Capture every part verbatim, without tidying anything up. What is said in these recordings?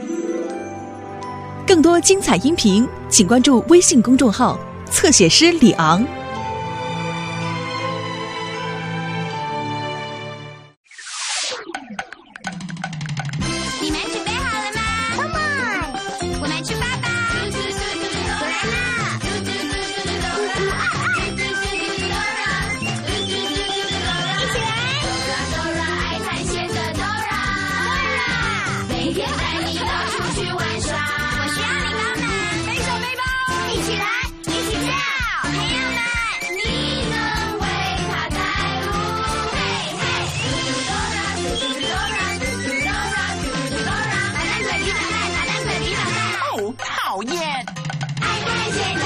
更多精彩音频，请关注微信公众号“侧写师李昂”。 你们准备好了吗 ？Come on， 我们出发吧！我来了！一起来！爱探险的 Dora， 每天带你到处去玩耍。我需要你帮忙，背手背包，一起来，一起跳。朋友们，你能为他带路。嘿嘿，嘟嘟 Dora， 嘟嘟 Dora， 嘟嘟 Dora， 嘟嘟 Dora， 打蛋滚地打蛋，打蛋滚地打蛋。 哦，讨厌！ 爱探险的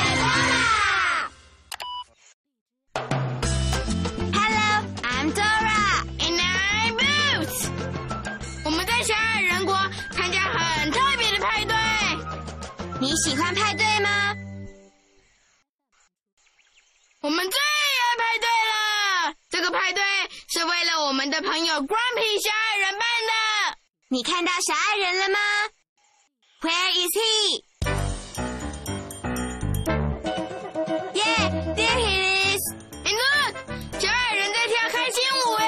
Dora。Hello，I'm Dora and I'm Boots。我们在小矮人国参加很特别的派对。你喜欢派对吗？我们最爱派对了！这个派对是为了我们的朋友 Grumpy 小矮人办的。你看到小矮人了吗 ？Where is he？ Yeah, there he is. And look， 小矮人在跳开心舞哎！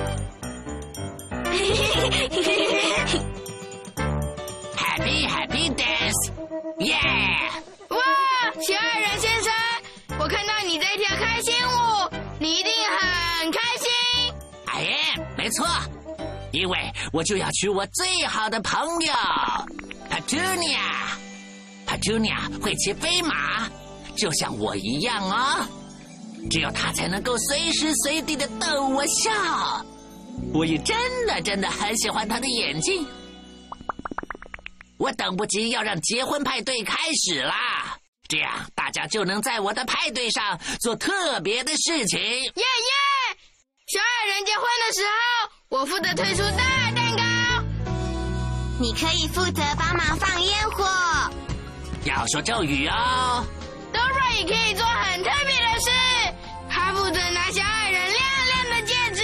Happy Happy Dance，Yeah！ 哇，小矮人先生，我看到你在跳开心舞，你一定很开心。 哎，没错，因为我就要娶我最好的朋友 Petunia。Petunia 会骑飞马，就像我一样哦。只有她才能够随时随地的逗我笑。我也真的真的很喜欢她的眼睛。我等不及要让结婚派对开始啦，这样大家就能在我的派对上做特别的事情。 耶耶！小矮人结婚的时候，我负责推出大蛋糕，你可以负责帮忙放烟火。 要说咒语哦。 Dora 也可以做很特别的事，她负责拿小矮人亮亮的戒指。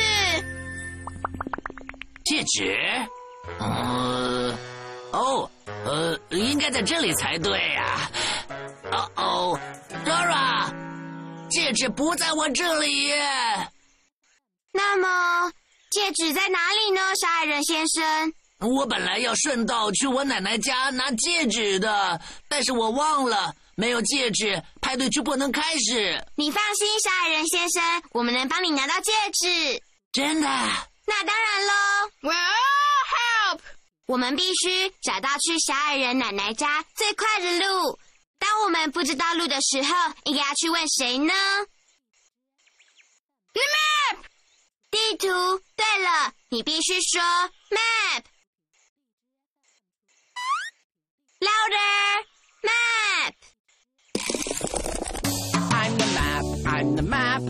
戒指？嗯，哦，呃，应该在这里才对啊。哦哦 ，Dora， 戒指不在我这里耶。 那么，戒指在哪里呢，小矮人先生？ 我本来要顺道去我奶奶家拿戒指的，但是我忘了，没有戒指，派对就不能开始。 你放心，小矮人先生，我们能帮你拿到戒指。 真的？ 那当然喽。Well, help！ 我们必须找到去小矮人奶奶家最快的路。当我们不知道路的时候，应该要去问谁呢 ？The map！ 地图。对了，你必须说 map。Louder! Map! I'm the map, I'm the map.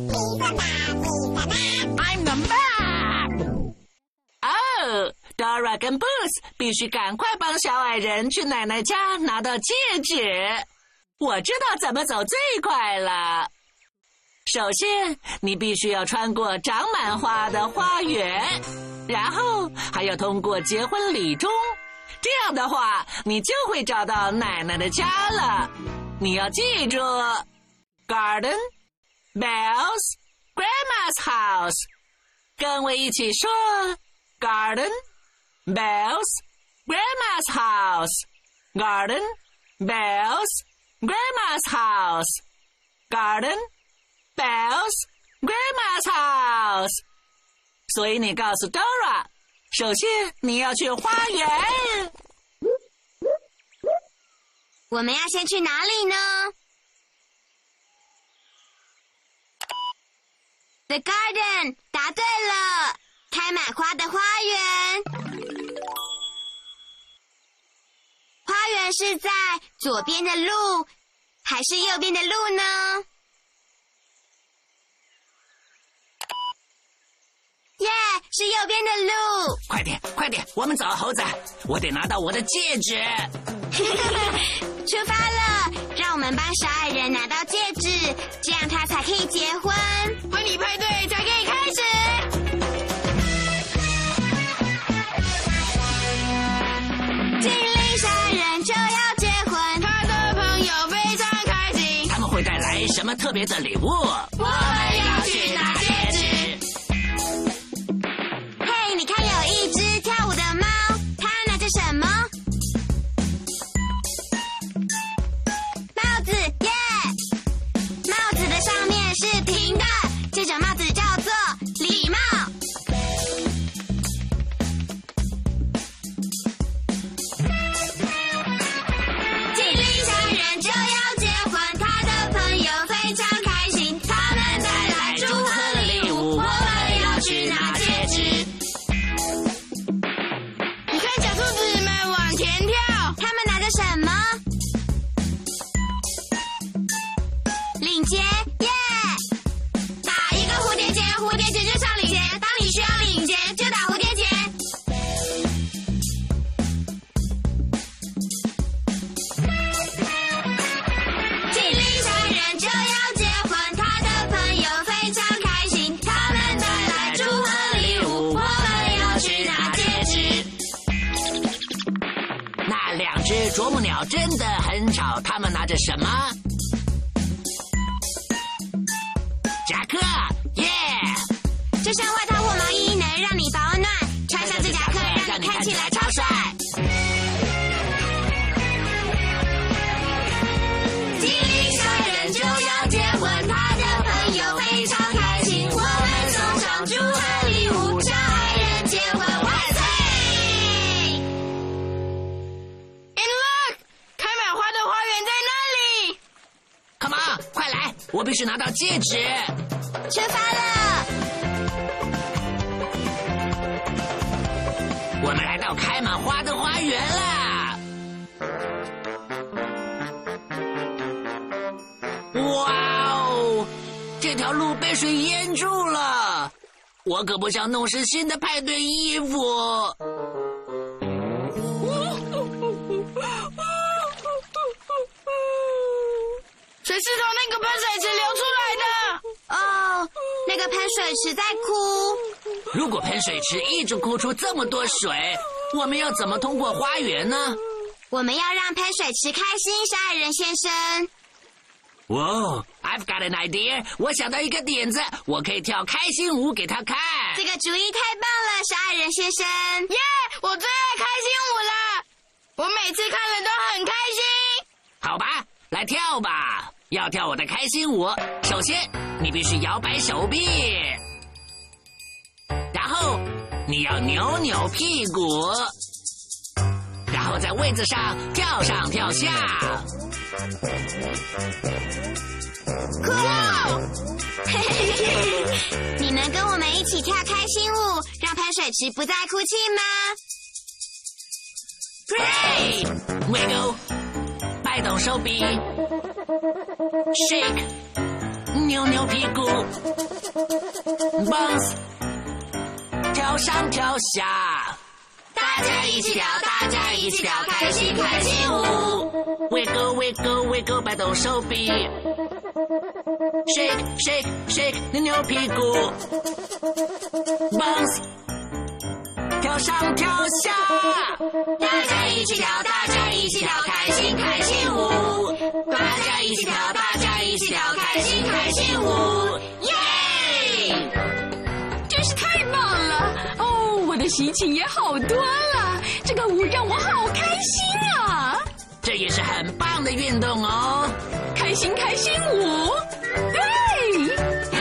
I'm the map. Oh, Dora 跟 Boots 必须赶快帮小矮人去奶奶家拿到戒指。我知道怎么走最快了。首先，你必须要穿过长满花的花园，然后还要通过结婚礼钟。这样的话，你就会找到奶奶的家了。你要记住 ，Garden, Bells, Grandma's house。跟我一起说 ，Garden, Bells, Grandma's house。Garden, Bells, Grandma's house。Garden, Bells, Grandma's house。所以你告诉 Dora。首先，你要去花园。 我们要先去哪里呢 ？The garden， 答对了，开满花的花园。花园是在左边的路，还是右边的路呢？耶、yeah, 是右边的路。 快点，快点，我们走，猴子，我得拿到我的戒指。 出发了，让我们帮小矮人拿到戒指，这样他才可以结婚，婚礼派对才可以开始。精灵小没什么特别的礼物。 我们要去拿戒指。嘿，你看，有一只跳舞的猫，它拿着什么？帽子，耶！帽子的上面是平的，这种帽子叫做礼帽。吉利商人就要结婚，他的朋友非常开心，他们带来祝贺礼物，我们要去拿戒指。你看小兔子们往前跳，他们拿着什么？领结，耶！打一个蝴蝶结，蝴蝶结就上领结，当你需要领结就打蝴蝶结。吉利商人就要结婚，他的朋友非常开心，他们带来祝贺礼物，我们要去拿戒指。 那两只啄木鸟真的很吵，它们拿着什么？夹克，耶！ 就像外套或毛衣能让你保暖，穿上这夹克让你看起来超帅。吉利商人就要结婚，他的朋友非常开心，我们送上祝贺礼物，让爱人结婚万岁 ！And look， 开满花的花园在那里。 Come on， 快来！我必须拿到戒指。 出发了！ 我们来到开满花的花园啦！哇哦，这条路被水淹住了，我可不想弄湿新的派对衣服。 水是从那个喷水池流出来的。哦，那个喷水池在哭。 如果喷水池一直哭出这么多水，我们要怎么通过花园呢？ 我们要让喷水池开心，杀人先生。 哇、wow, ，I've got an idea！ 我想到一个点子，我可以跳开心舞给他看。 这个主意太棒了，杀人先生！耶、yeah, 我最爱开心舞了，我每次看了都很开心。 好吧，来跳吧！要跳我的开心舞，首先你必须摇摆手臂，然后你要扭扭屁股，然后在位子上跳上跳下。 酷！嘿嘿嘿，你能跟我们一起跳开心舞，让喷水池不再哭泣吗 ？Great! Wiggle， 摆动手臂 ，shake， 扭扭屁股 ，bounce， 跳上跳下。 大家一起跳，大家一起跳，开心开心舞。 Wiggle wiggle wiggle， 摆动手臂 ，shake shake shake， 扭扭屁股 ，bounce， 跳上跳下。 大家一起跳，大家一起跳，开心开心舞。大家一起跳，大家一起跳，开心开心舞。耶！ 真是太棒了！哦，我的心情也好多了。这个舞让我好开心啊！ 这也是很棒的运动哦。 开心开心舞，对。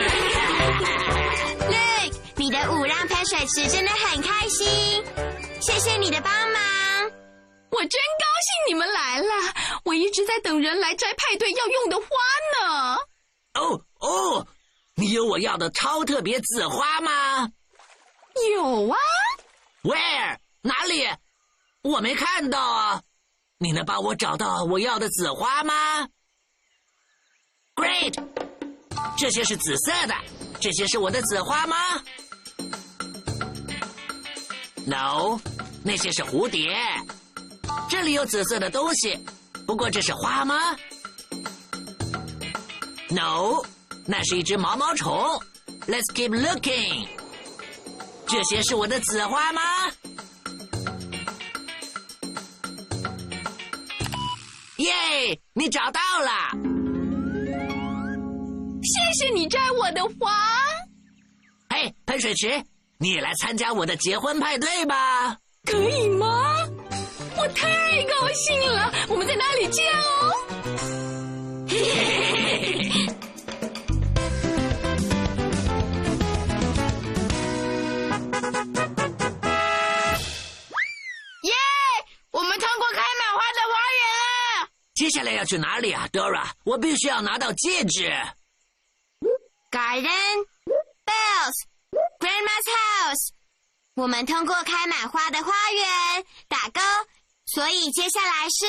Look， 你的舞让喷水池真的很开心，谢谢你的帮忙。 我真高兴你们来了，我一直在等人来摘派对要用的花呢。 哦哦，你有我要的超特别紫花吗？ 有啊。 Where？ 哪里？我没看到啊。你能帮我找到我要的紫花吗 ？Great！ 这些是紫色的，这些是我的紫花吗 ？No， 那些是蝴蝶。这里有紫色的东西，不过这是花吗 ？No， 那是一只毛毛虫。Let's keep looking。这些是我的紫花吗？耶！你找到了。 谢你摘我的花。 嘿，喷水池，你也来参加我的结婚派对吧？ 可以吗？我太高兴了！我们在哪里见哦？ 耶！我们通过开满花的花园了。 接下来要去哪里啊 ，Dora？ 我必须要拿到戒指。 Garden, bells, Grandma's house。我们通过开满花的花园，打勾。所以接下来是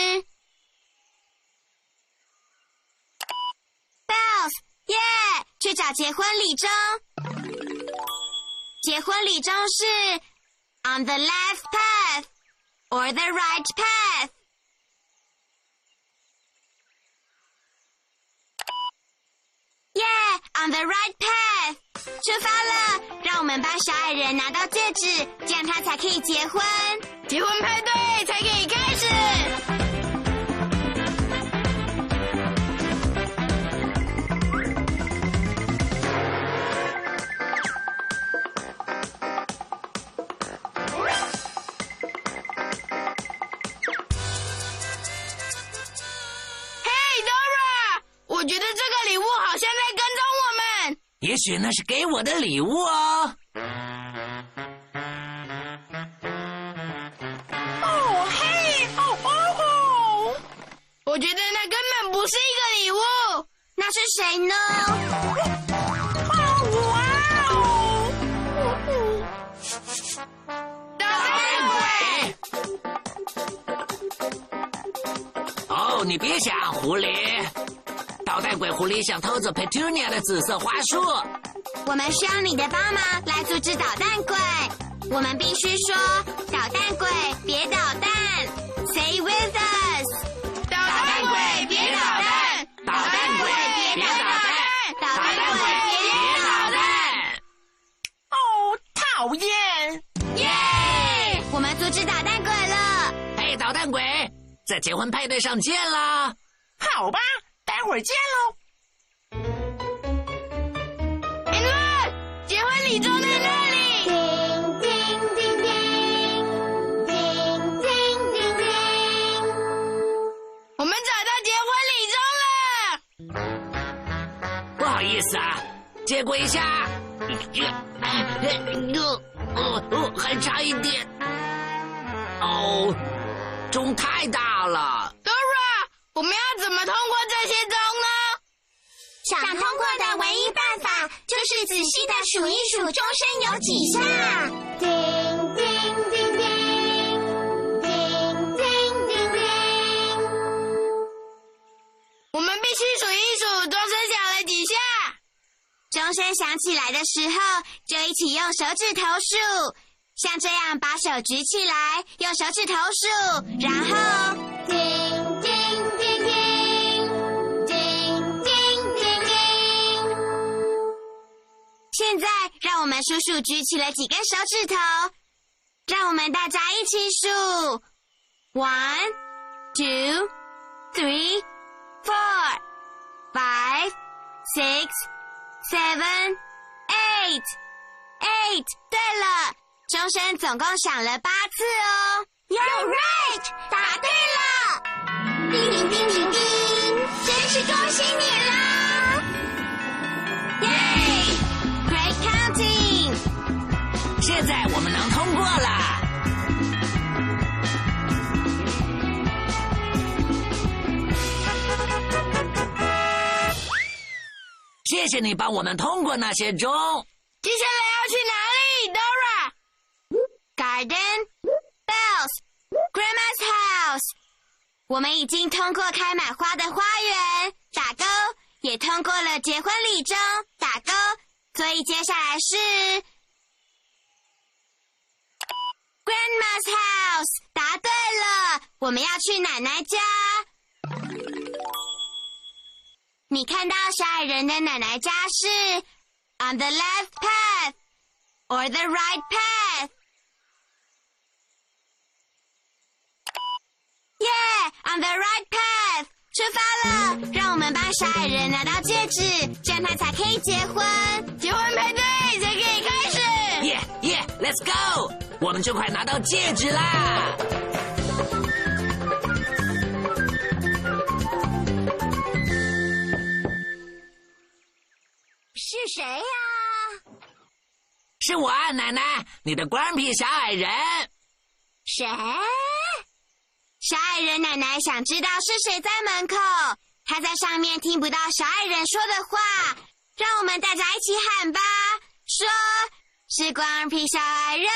bells， 耶！去找结婚礼钟。结婚礼钟是 on the left path or the right path。耶 ，on the right path， 出发了！让我们帮小矮人拿到戒指，这样他才可以结婚。结婚派对才可以开始。Hey Dora， 我觉得这个礼物好像在跟踪我们。 也许那是给我的礼物哦。 我觉得那根本不是一个礼物，那是谁呢？哇哦！捣蛋鬼！ 哦，你别想，狐狸！捣蛋鬼狐狸想偷走 Petunia 的紫色花束。 我们需要你的帮忙来阻止捣蛋鬼。我们必须说：捣蛋鬼，别捣蛋 ！Say with us。捣蛋鬼，别捣蛋！ 捣蛋鬼，别捣蛋！ 捣蛋鬼，别捣蛋！ 哦，讨厌！ 耶！我们阻止捣蛋鬼了。 嘿，捣蛋鬼，在结婚派对上见啦！ 好吧，待会儿见喽。 哎，那结婚礼钟在那里。叮叮叮叮，叮叮叮叮。我们找到结婚礼钟了。 不好意思啊，借过一下。哦哦，还差一点。哦，钟太大了。 Dora， 我们要怎么通过这些钟呢？想通过的唯一办法就是仔细的数一数钟声有几下。叮叮叮叮，叮叮叮叮。我们必须数一数钟声响了几下。钟声响起来的时候，就一起用手指头数，像这样把手举起来，用手指头数，然后叮叮叮叮，叮叮叮叮。现在让我们数数举起了几根手指头，让我们大家一起数 one, two, three, four, five, six, seven, eight, eight。对了，钟声总共响了八次哦。You're right， 答对了。叮铃叮铃叮，真是恭喜你啦！耶 ！Great counting。 现在我们能通过了。谢谢你帮我们通过那些钟。 接下来要去哪里 ，Dora？Garden, bells, Grandma's house。我们已经通过开满花的花园，打勾，也通过了结婚礼钟，打勾。所以接下来是 Grandma's house， 答对了，我们要去奶奶家。你看到小矮人的奶奶家是 on the left path or the right path。Yeah, on the right path。 出发了，让我们帮小矮人拿到戒指，这样他才可以结婚。结婚派对才可以开始。 耶耶 ，Let's go！ 我们就快拿到戒指啦！ 是谁呀、啊？ 是我啊，奶奶，你的光皮小矮人。 谁？小矮人奶奶想知道是谁在门口，她在上面听不到小矮人说的话，让我们大家一起喊吧，说是光皮小矮人。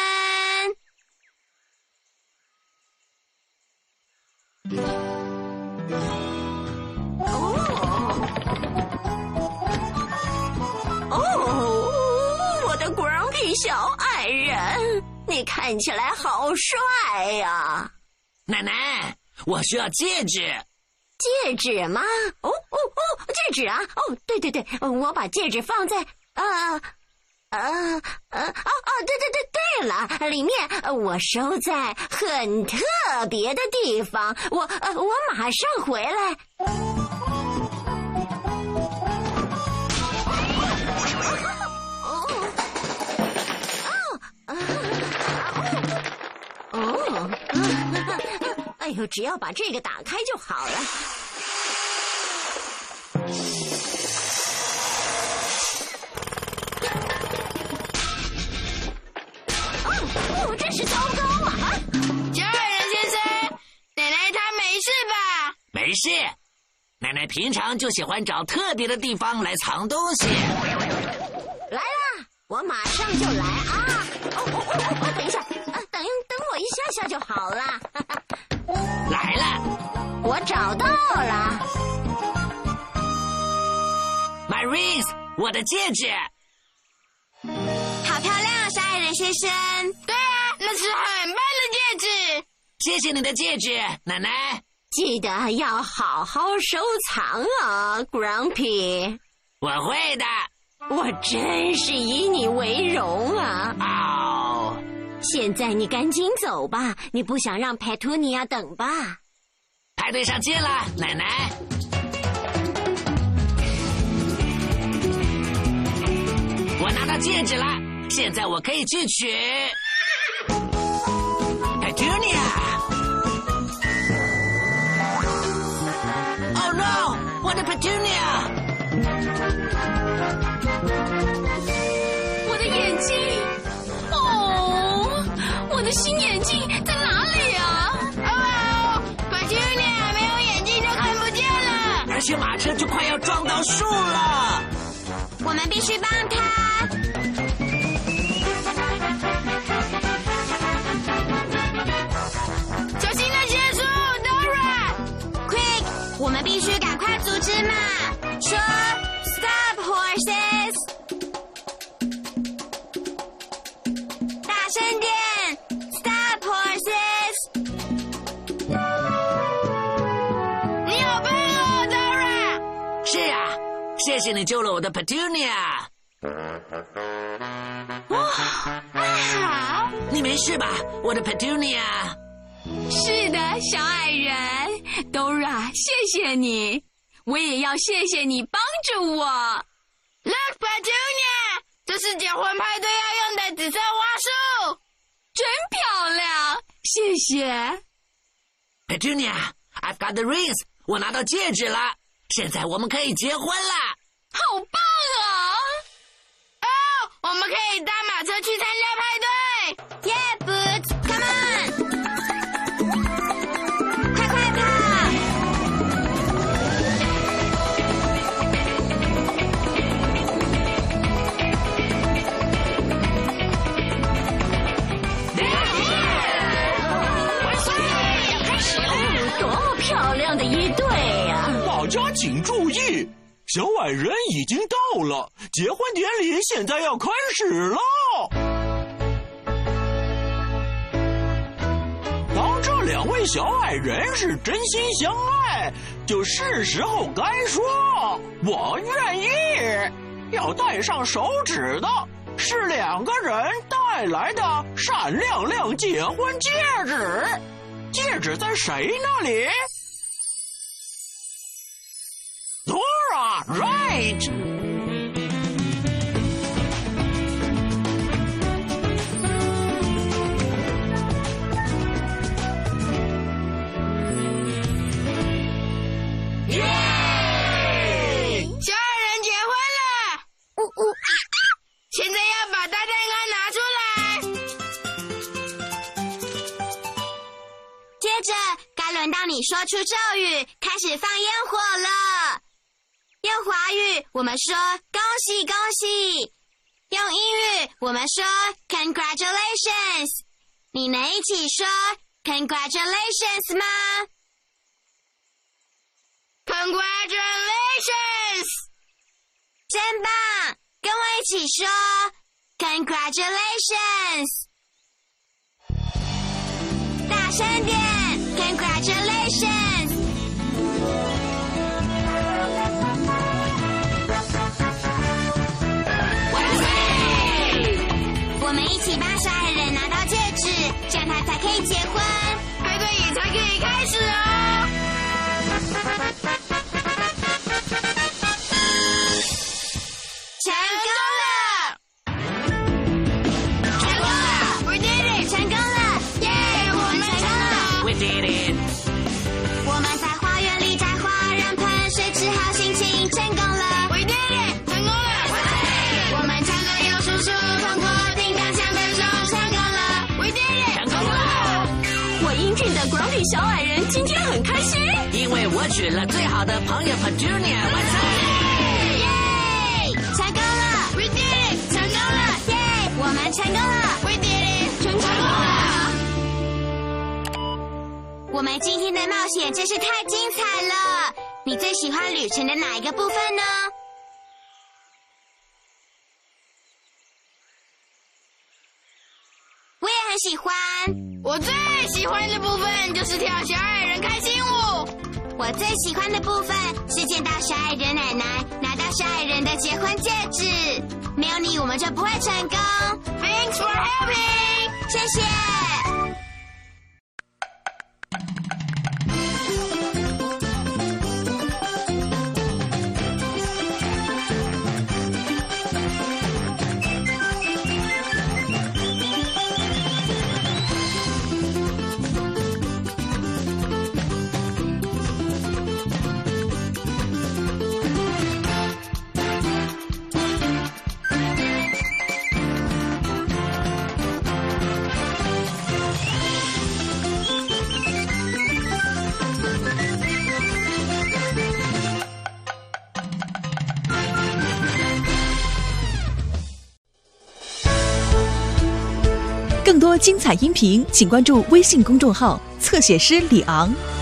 哦，我的光皮小矮人，你看起来好帅呀！ 奶奶，我需要戒指。 戒指吗？哦哦哦，戒指啊！哦，对对对，我把戒指放在呃呃呃哦哦，对对对对了，里面我收在很特别的地方。我呃我马上回来。哦，哎呦，只要把这个打开就好了。哦哦，真是糟糕啊！ 小矮人先生，奶奶她没事吧？ 没事，奶奶平常就喜欢找特别的地方来藏东西。 来啦，我马上就来啊！哦哦哦哦，等一下，啊，等等我一下下就好了。 来了， 我找到了 ，My rings， 我的戒指。 好漂亮啊，小矮人先生。对啊，那是很棒的戒指。 谢谢你的戒指，奶奶。 记得要好好收藏啊 ，Grumpy。 我会的。 我真是以你为荣啊！ 哦， 现在你赶紧走吧，你不想让 Petunia 等吧？ 派对上见了，奶奶。我拿到戒指了，现在我可以去取 Petunia。Oh no！ 我的 Petunia！ 我的眼睛，哦，我的新眼镜在哪里啊？ 哦 ，Petunia 没有眼镜就看不见了， 而且马车就快要撞到树了。 我们必须帮他。小心那些树 ，Dora！Quick， 我们必须赶快阻止马。说 ，Stop horses！ 大声点 ，Stop horses！ 你好棒哦 ，Dora！ 是啊，谢谢你救了我的 Petunia。 哇， 好。 你没事吧，我的 Petunia？ 是的，小矮人 Dora， 谢谢你，我也要谢谢你帮着我。 Look, Petunia， 这是结婚派对要用的紫色花束， 真漂亮，谢谢。 Petunia，I've got the rings， 我拿到戒指了，现在我们可以结婚了。 好棒啊！ 哦，我们可以搭马车去参加派对。Yeah, Boots, come on！ 快快跑！ 万岁！要开始了！ 多么漂亮的一对呀！ 大家请注意，小矮人已经到了，结婚典礼现在要开始了。当这两位小矮人是真心相爱，就是时候该说我愿意。要戴上手指的是两个人带来的闪亮亮结婚戒指，戒指在谁那里？ Right。 小矮人结婚了，呜呜，现在要把大蛋糕拿出来。接着，该轮到你说出咒语，开始放烟火了。用华语，我们说恭喜恭喜；用英语，我们说 congratulations。你能一起说 congratulations 吗？Congratulations！ 真棒，跟我一起说 Congratulations！ 大声点 Congratulations！ 万岁！我们一起帮小矮人拿到戒指，这样他才可以结婚，派对也才可以开始哦。成功了！成功了 ！We did it！ 成功了！耶！我们成功了 We did it！ 我们在花园里摘花，让喷水治好心情，成功了 ！We did it！ 成功了！我们唱歌有叔叔，通过叮当响的钟，成功了 ！We did it！ 成功了！ 我英俊的 Grumpy 小矮人今天很开心， 因为我娶了最好的朋友 Petunia， 万岁！ 成功了 ！We did it！ 成功了！耶！我们成功了 ！We did it！ 成功了！我们今天的冒险真是太精彩了！你最喜欢旅程的哪一个部分呢？我也很喜欢。我最喜欢的部分就是跳小矮人开心舞。我最喜欢的部分是见到小矮人奶奶拿到小矮人的结婚戒指。没有你，我们就不会成功。Thanks for helping， 谢谢。 更多精彩音频，请关注微信公众号“侧写师李昂”。